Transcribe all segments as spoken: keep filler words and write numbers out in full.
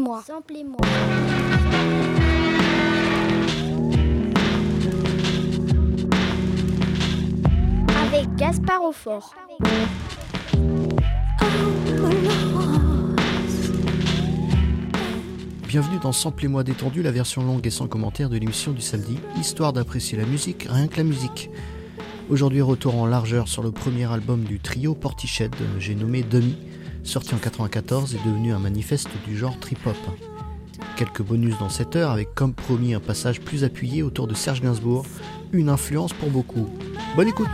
Samplez-moi. Samplez-moi. Avec Gaspard Aufort. Bienvenue dans Samplez-moi détendu, la version longue et sans commentaire de l'émission du samedi, histoire d'apprécier la musique, rien que la musique. Aujourd'hui, retour en largeur sur le premier album du trio Portiched, j'ai nommé Demi, sorti en quatre-vingt-quatorze et devenu un manifeste du genre trip-hop. Quelques bonus dans cette heure, avec comme promis un passage plus appuyé autour de Serge Gainsbourg, une influence pour beaucoup. Bonne écoute!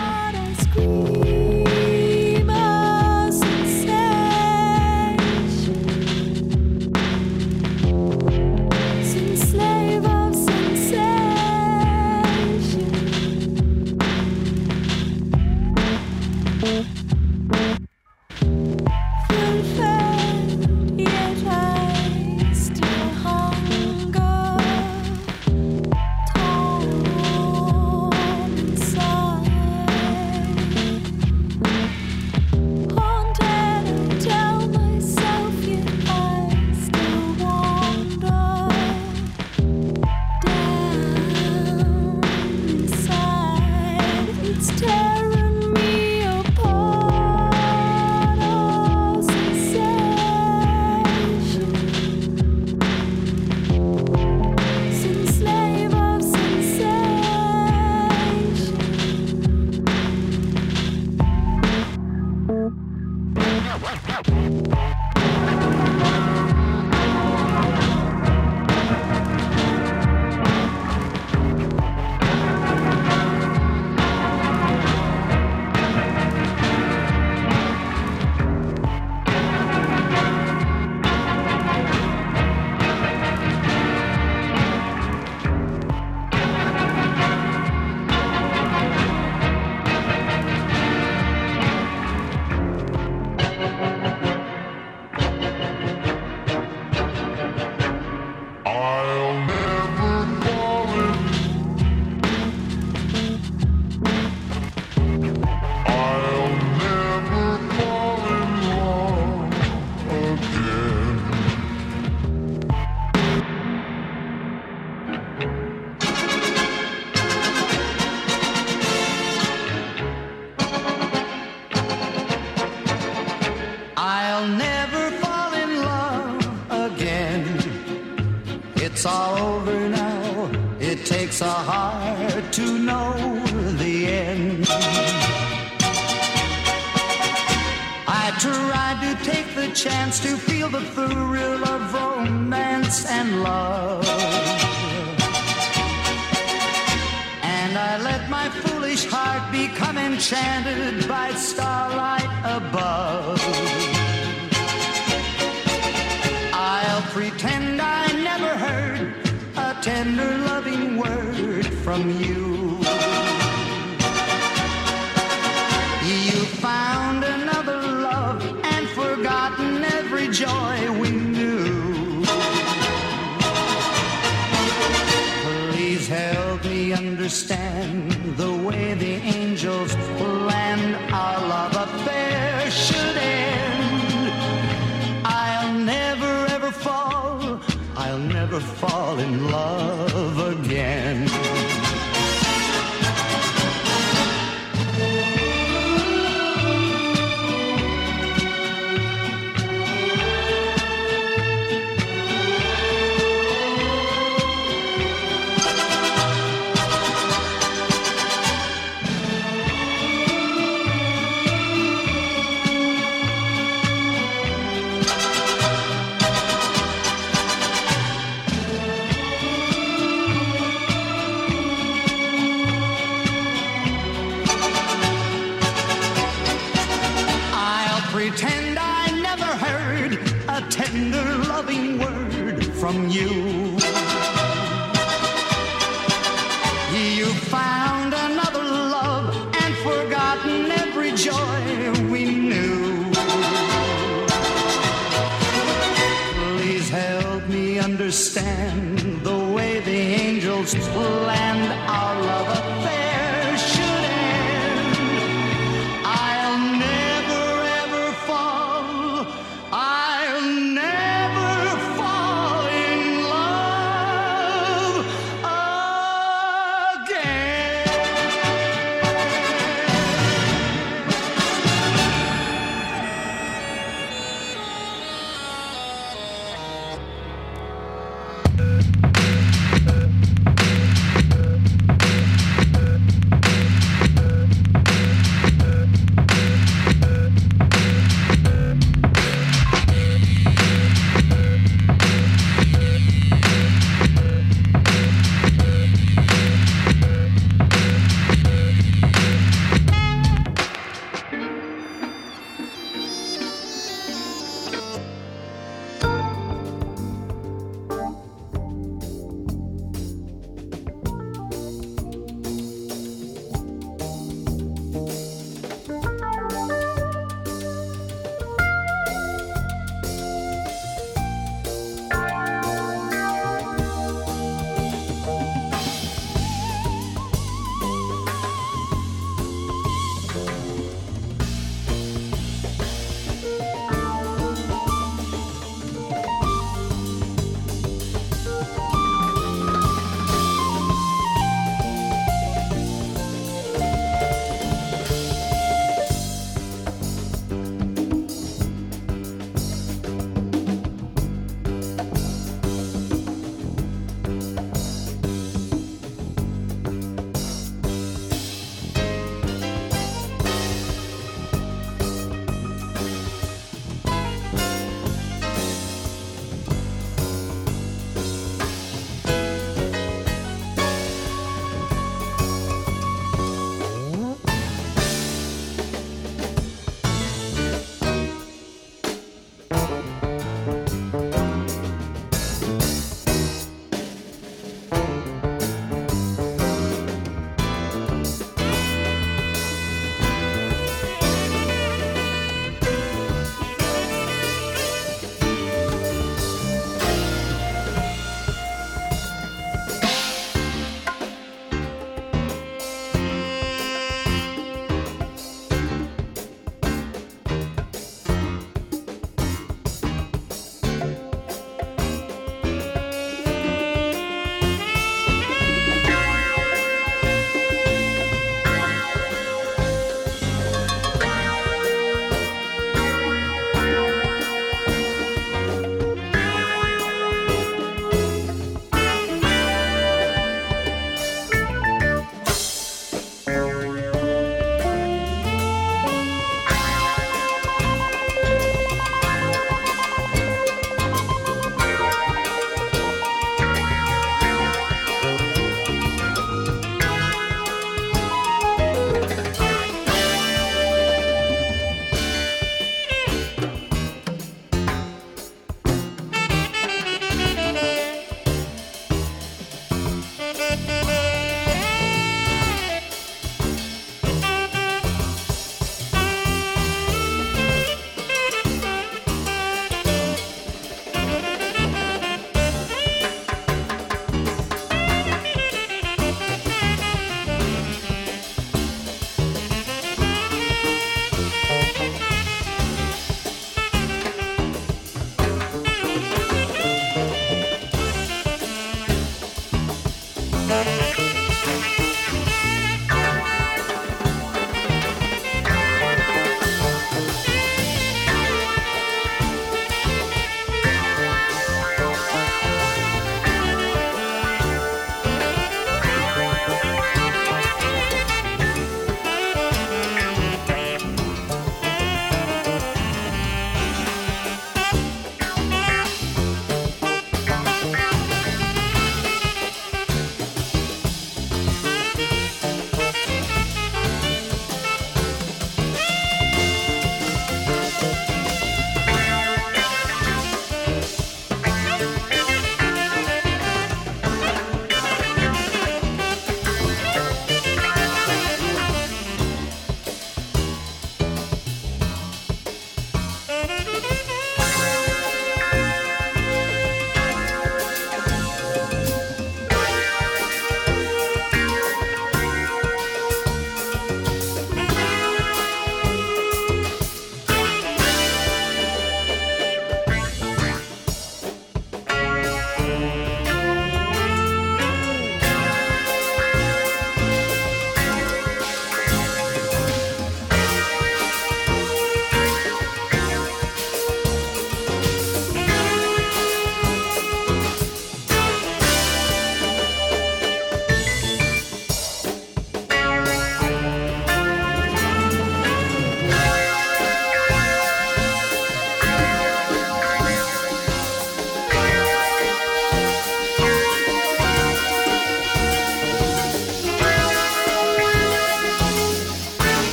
Chance to feel the thrill of romance and love, and I let my foolish heart become enchanted by starlight above. I'll pretend I never heard a tender loving word from you. You found another love and forgotten every joy we knew. Please help me understand the way the angels planned our love affair should end. I'll never ever fall, I'll never fall in love again. Pretend I never heard a tender loving word from you. You found another love and forgotten every joy we knew. Please help me understand the way the angels planned our love affair should end. I'll never ever fall, I'll never fall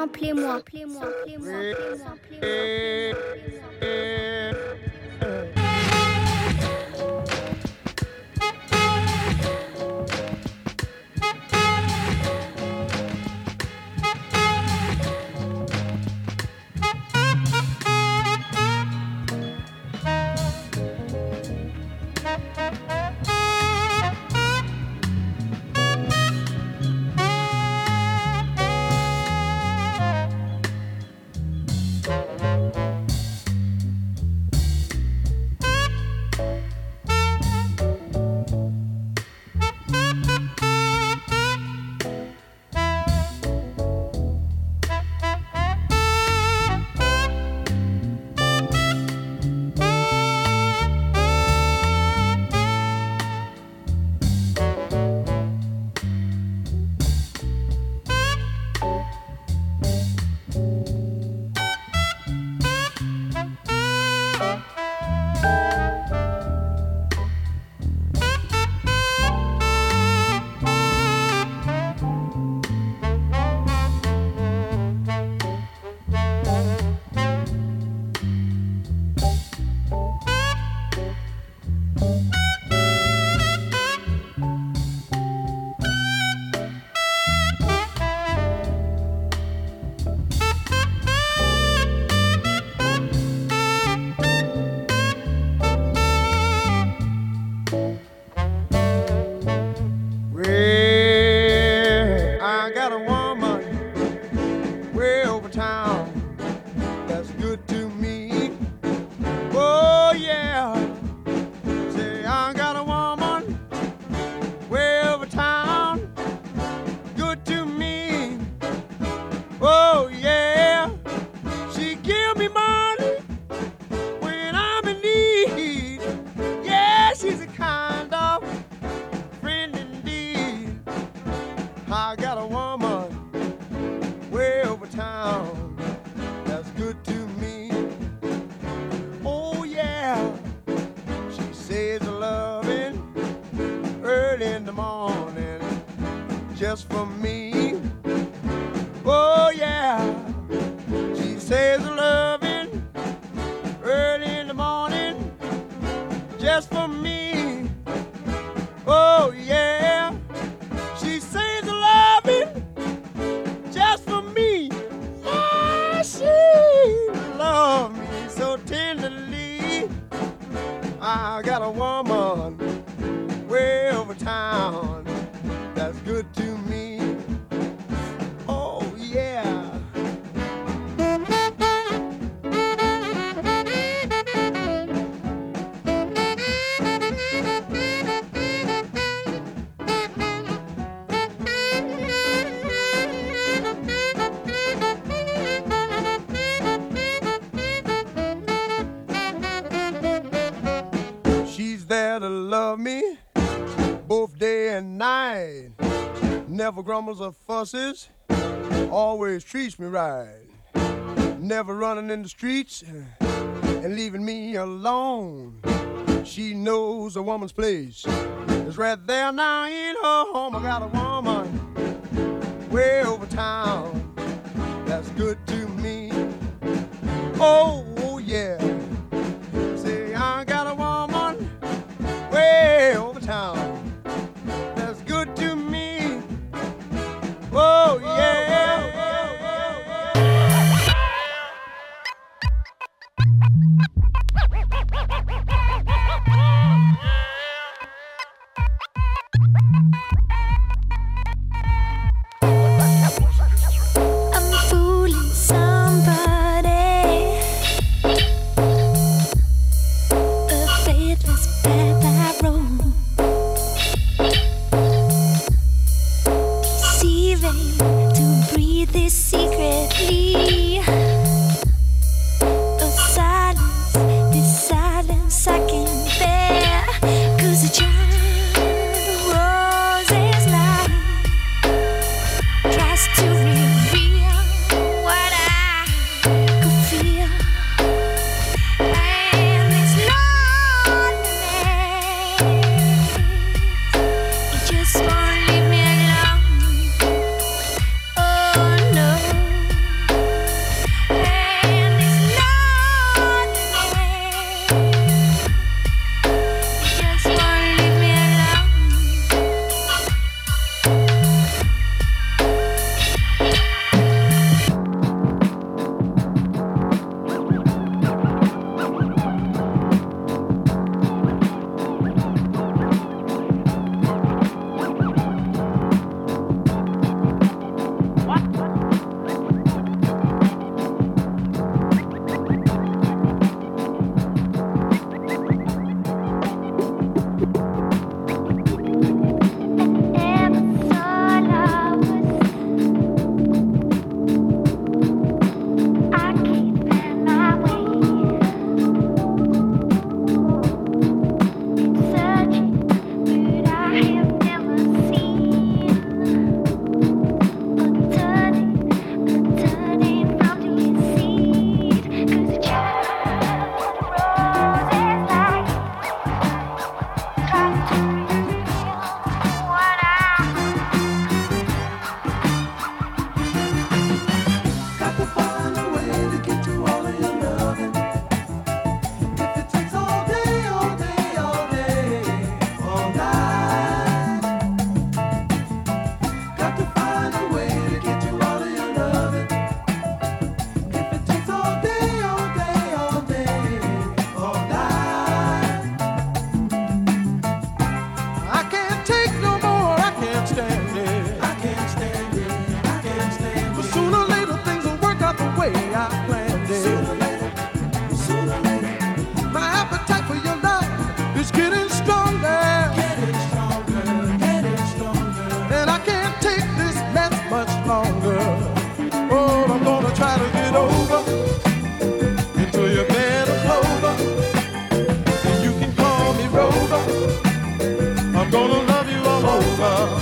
Samplez-moi, samplez-moi, samplez-moi, samplez-moi, samplez-moi. Just for me. Oh yeah, she says loving early in the morning just for me. Oh yeah, she says loving just for me. Yeah, she loves me so tenderly. I got a woman way over town that's good to me. Oh yeah. She's there to love me both day and night. Never grumbles or fusses, always treats me right. Never running in the streets and leaving me alone. She knows a woman's place is right there now in her home. I got a woman way over town that's good to me. Oh, oh yeah. Say I got a woman way over town that's good to me. Oh yeah. I'm fooling somebody, a faithless path I roam, deceiving to breathe this secretly. The silence, this silence I can bear, 'cause the child over.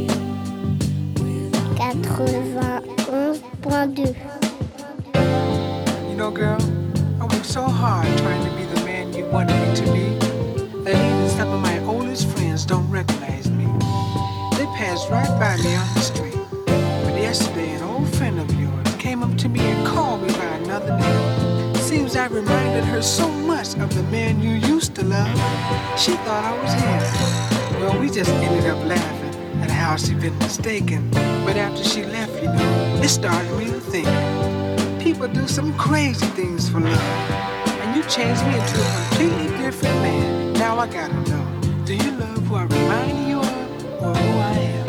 quatre-vingt-onze point deux. know, girl, I worked so hard trying to be the man you wanted me to be that even some of my oldest friends don't recognize me. They passed right by me on the street. But yesterday, an old friend of yours came up to me and called me by another name. Seems I reminded her so much of the man you used to love, she thought I was him. Well, we just ended up laughing at how she'd been mistaken. But after she left, you know, it started me to think. People do some crazy things for love. And you changed me into a completely different man. Now I gotta know, do you love who I remind you of, or who I am?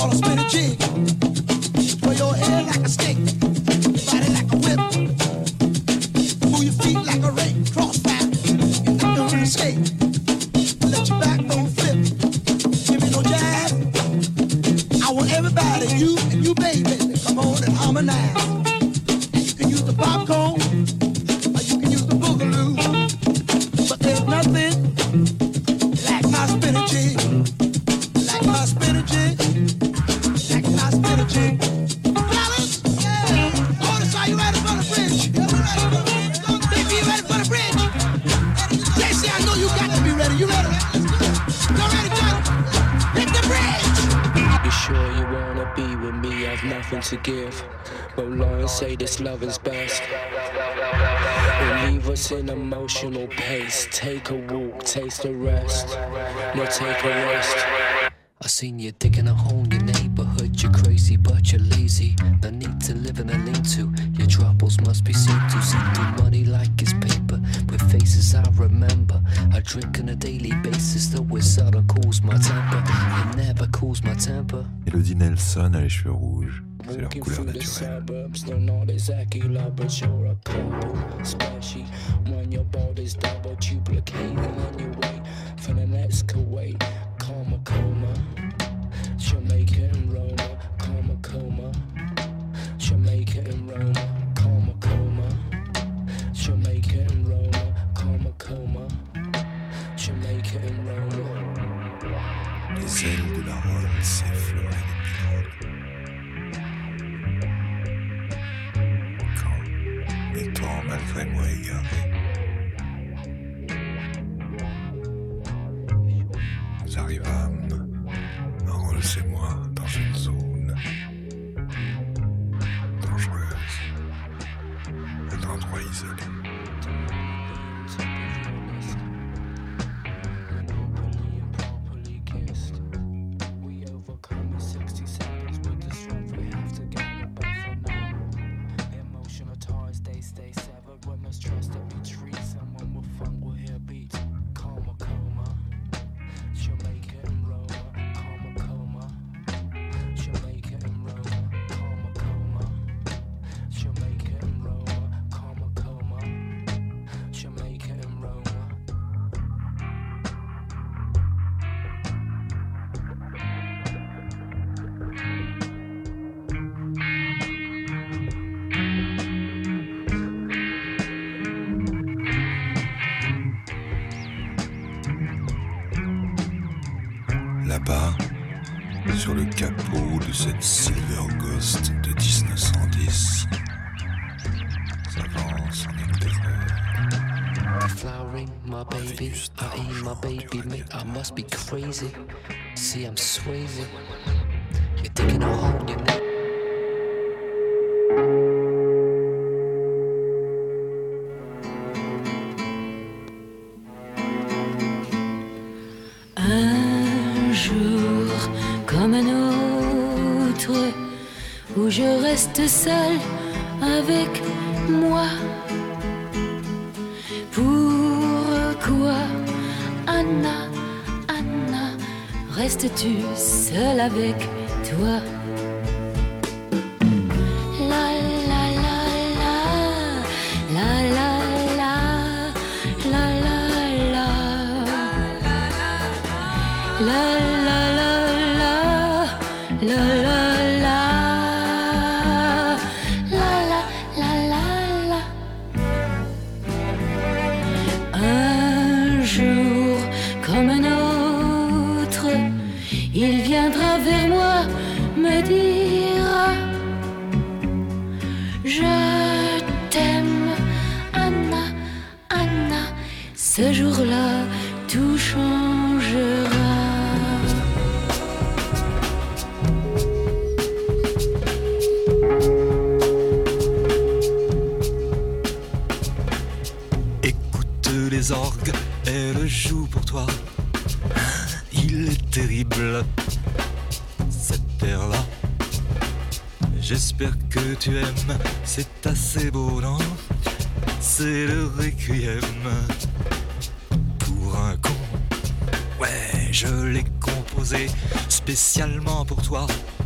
call a spinning jig. Sway your head like a stick, your body like a whip. Move your feet like a rake, crossfire. You're not gonna escape. Let your backbone flip. Give me no jazz. I want everybody, you and you, baby, to come on and harmonize. And you can use the popcorn, or you can use the boogaloo. But there's nothing like my spinning jig. Like my spinning jig. Like my spinning jig. Fellas, yeah. Otis, are you ready for the bridge? Yeah, we ready for the bridge. Baby, you ready for the bridge? Jesse, I know you got to be ready. You ready? You ready, John? Hit the bridge! You sure you wanna be with me? I've nothing to give. Roll on and say this love is best. Or leave us in emotional pace. Take a walk, taste a rest. No, take a rest. I seen you digging a hole in your neighborhood. You're crazy, but you're lazy. No need to live in a lean-to. Your troubles must be seen to. See through money like it's paper. With faces I remember. I drink on a daily basis, though it seldom cools my temper. It never cools my temper. Elodie Nelson a les cheveux rouges. C'est leur Walking couleur through the naturelle. suburbs, they're not exactly love, but you're a couple. Especially when your body's double duplicating and you wait for the next Kuwait. Coma, coma, Jamaica and Roma. Coma, coma, Jamaica and Roma. Coma, coma, Jamaica and Roma. Coma, coma, Jamaica and Roma. Les ailes de la Rhône s'effleuraient depuis l'aube. Quand, m'étant malgré moi égaré, nous arrivâmes, Rolls et moi, dans une zone dangereuse, un endroit isolé. Là-bas, sur le capot de cette Silver Ghost de dix-neuf cent dix, s'avance en une terreur. Flowering, my baby, I eat my baby, mate, I must be crazy. See, I'm swayzy. You're digging a hole in your neck. Un jour comme un autre, où je reste seule avec moi. Pourquoi, Anna, Anna, restes-tu seule avec toi? La la la la, la la la, la la la, la la la la, la la la, la la la la. Un jour comme un autre, il viendra vers moi, me dira: je t'aime, Anna, Anna. Ce jour-là, tout changera. Écoute les orgues, elle joue pour toi. Il est terrible, cette terre-là. J'espère que tu aimes, c'est assez beau, non? C'est le requiem pour un con. Ouais, je l'ai composé spécialement pour toi.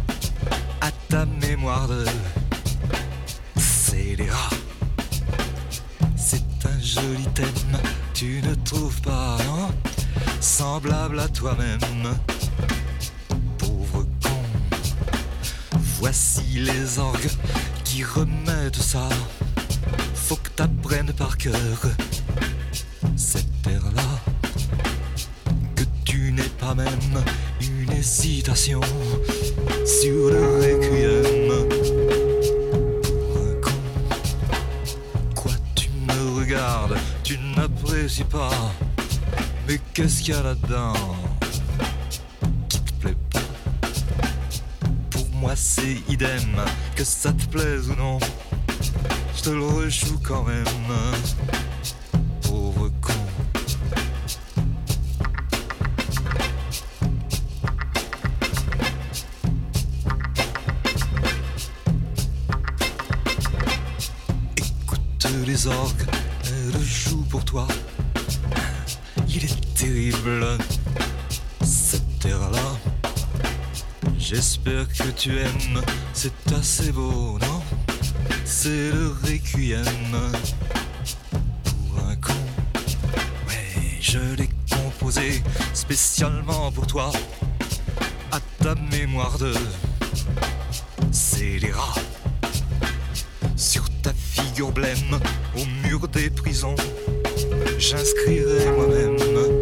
ta mémoire de scélérat. C'est un joli thème, tu ne trouves pas, non? Semblable à toi-même, pauvre con. Voici les orgues qui remettent ça. Faut que t'apprennes par cœur cette terre-là, que tu n'aies pas même une hésitation sur le requiem. Un con, quoi tu me regardes, tu n'apprécies pas, mais qu'est-ce qu'il y a là-dedans qui te plaît pas? Pour moi c'est idem, que ça te plaise ou non, je te le rejoue quand même, pauvre con. Écoute les orgues, elles jouent pour toi. Il est terrible, cette terre-là. J'espère que tu aimes, c'est assez beau, non? C'est le requiem pour un con. Ouais, je l'ai composé spécialement pour toi, à ta mémoire de scélérat. Sur ta figure blême, au mur des prisons, j'inscrirai moi-même.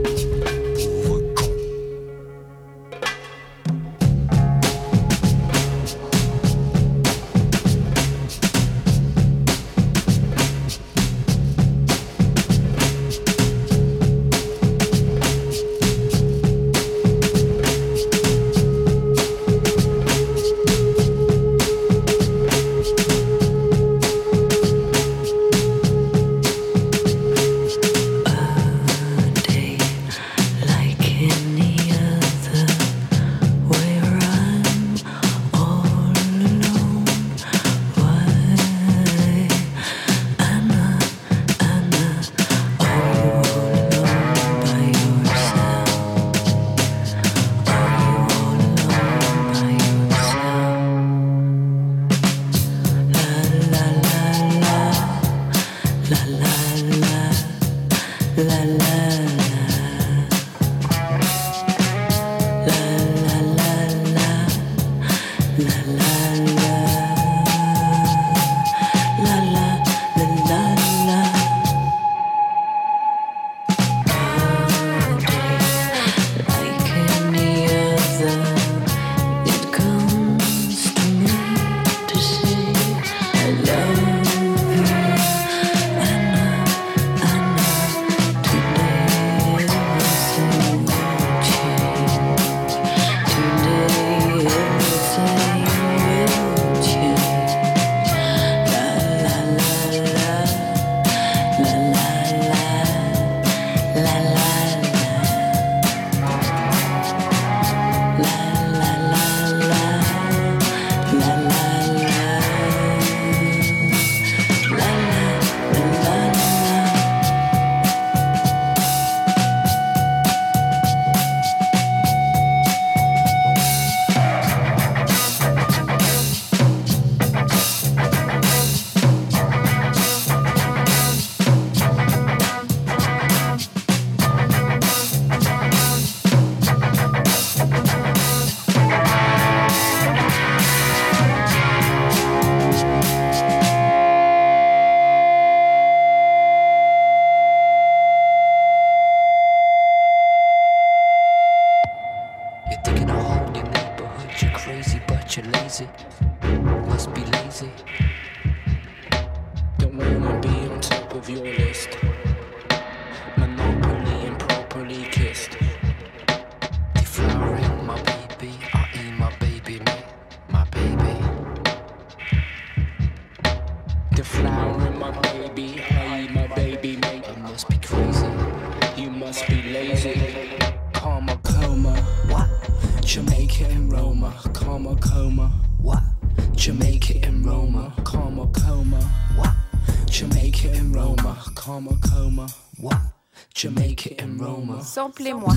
Samplez-moi.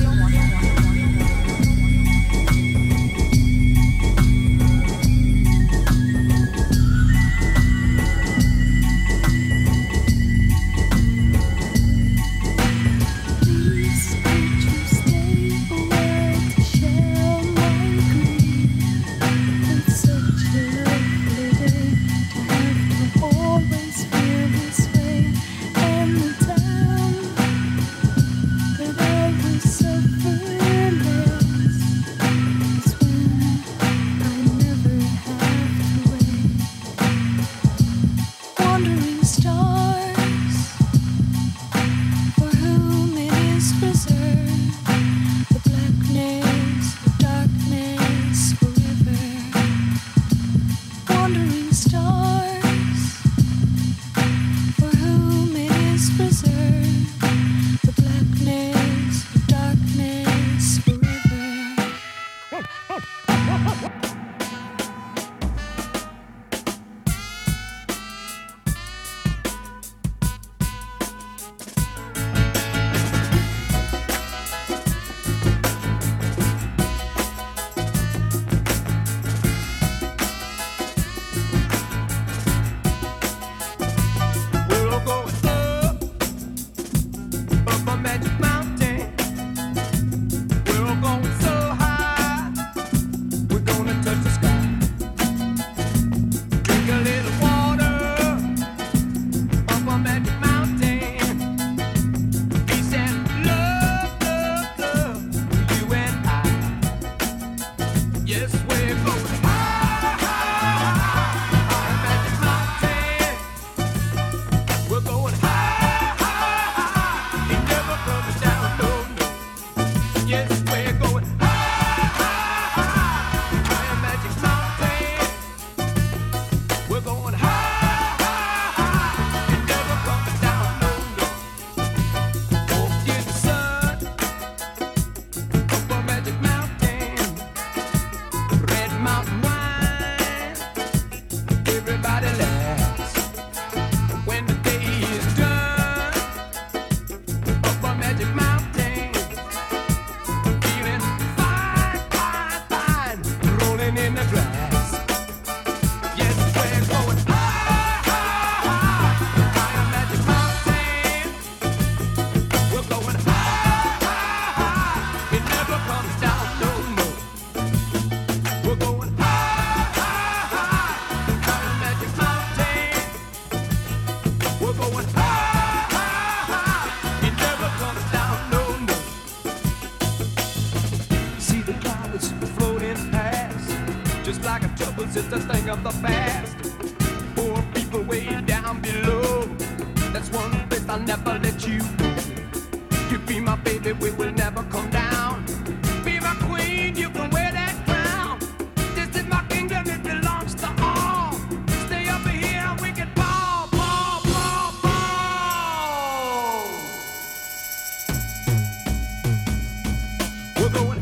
Troubles is a thing of the past. Poor people way down below. That's one place I'll never let you go. You be my baby, we will never come down. Be my queen, you can wear that crown. This is my kingdom, it belongs to all. Stay over here and we can ball, ball, ball, ball. We're going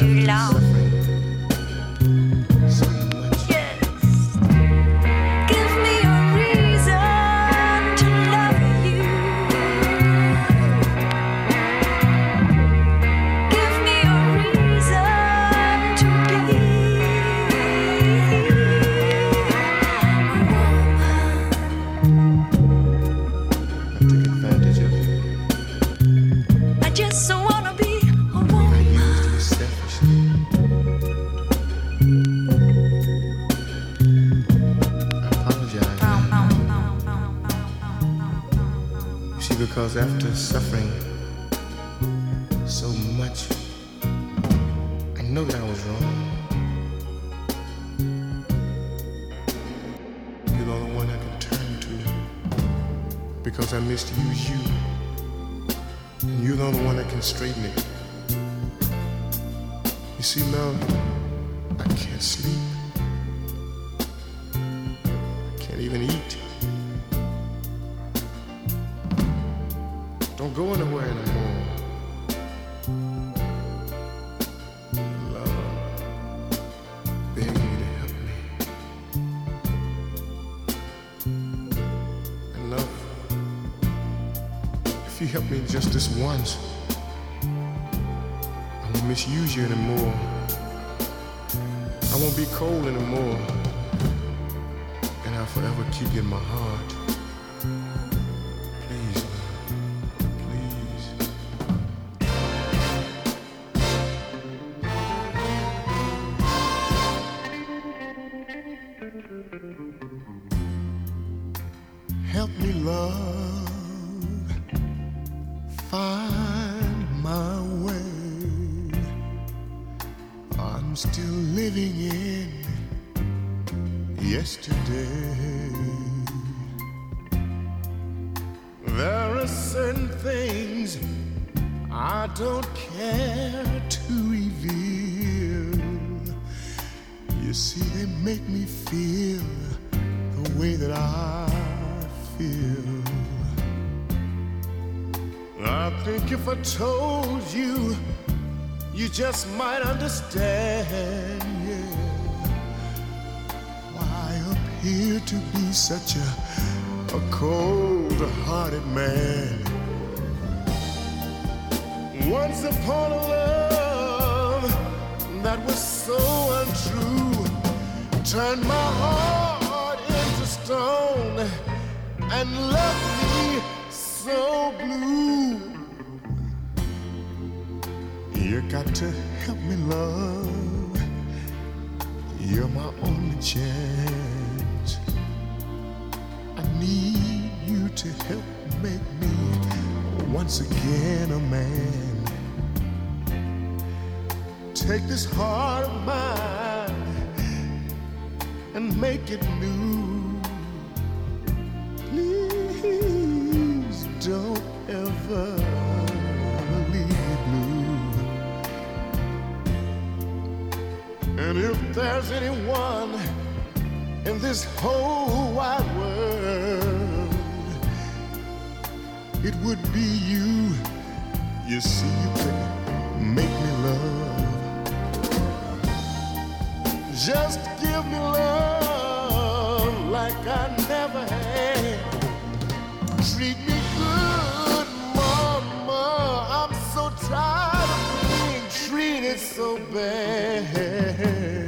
to love. Because after suffering so much, I know that I was wrong. You're the only one I can turn to, because I misused you. And you're the only one that can straighten it. You see, love, I can't sleep. I can't even eat. Don't go anywhere anymore. Love, beg you to help me. And love, if you help me just this once, I won't misuse you anymore. I won't be cold anymore. And I'll forever keep you in my heart. Help me, love, find my way. I'm still living in yesterday. There are certain things I don't care to reveal. You see, they make me feel the way that I feel. I think if I told you, you just might understand, yeah, why I appear to be such a, a cold-hearted man. Once upon a love that was so untrue turned my heart into stone and left me so blue. You got to help me, love. You're my only chance. I need you to help make me once again a man. Take this heart of mine and make it new. Please don't ever leave me blue. And if there's anyone in this whole wide world, it would be you. You see, you can make me love. Just give me love like I never had. Treat me good, mama. I'm so tired of being treated so bad.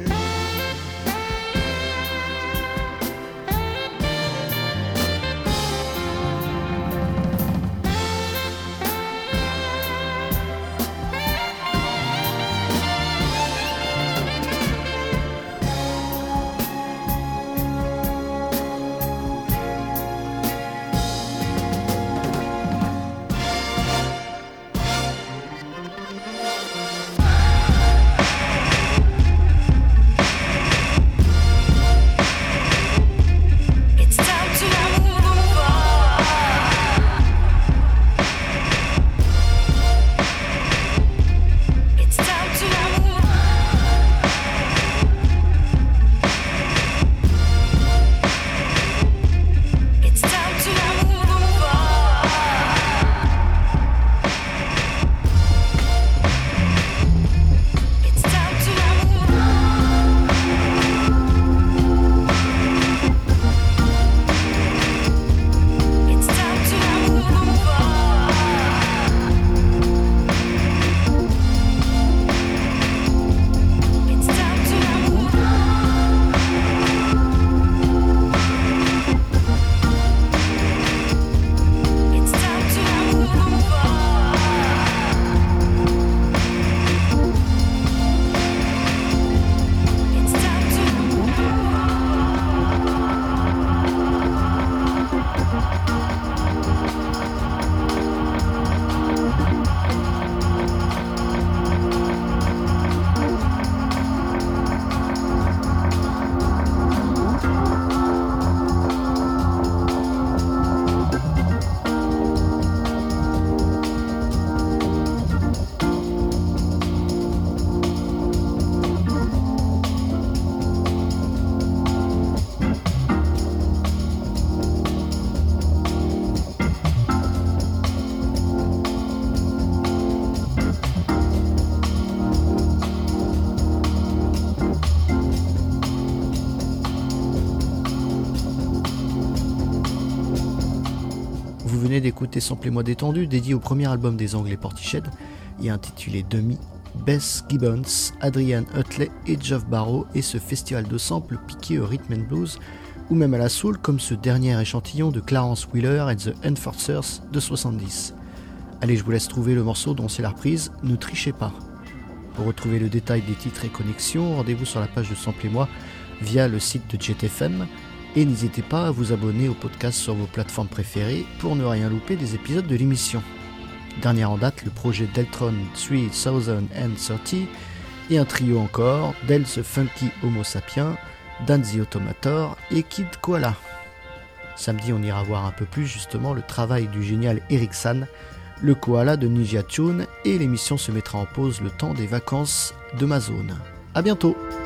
écouter Samplez-moi détendu, dédié au premier album des Anglais Portishead et intitulé Demi, Bess Gibbons, Adrian Utley et Geoff Barrow et ce festival de samples piqué au rhythm and blues ou même à la soul comme ce dernier échantillon de Clarence Wheeler et The Enforcers de soixante-dix. Allez, je vous laisse trouver le morceau dont c'est la reprise, ne trichez pas. Pour retrouver le détail des titres et connexions, rendez-vous sur la page de Samplez-moi via le site de Jet F M et n'hésitez pas à vous abonner au podcast sur vos plateformes préférées pour ne rien louper des épisodes de l'émission. Dernière en date, le projet Deltron trois cent trente et un trio encore, Del the Funky Homo Sapien, Dan the Automator et Kid Koala. Samedi, on ira voir un peu plus justement le travail du génial Eric San, le koala de Ninja Tune, et l'émission se mettra en pause le temps des vacances de ma zone. A bientôt!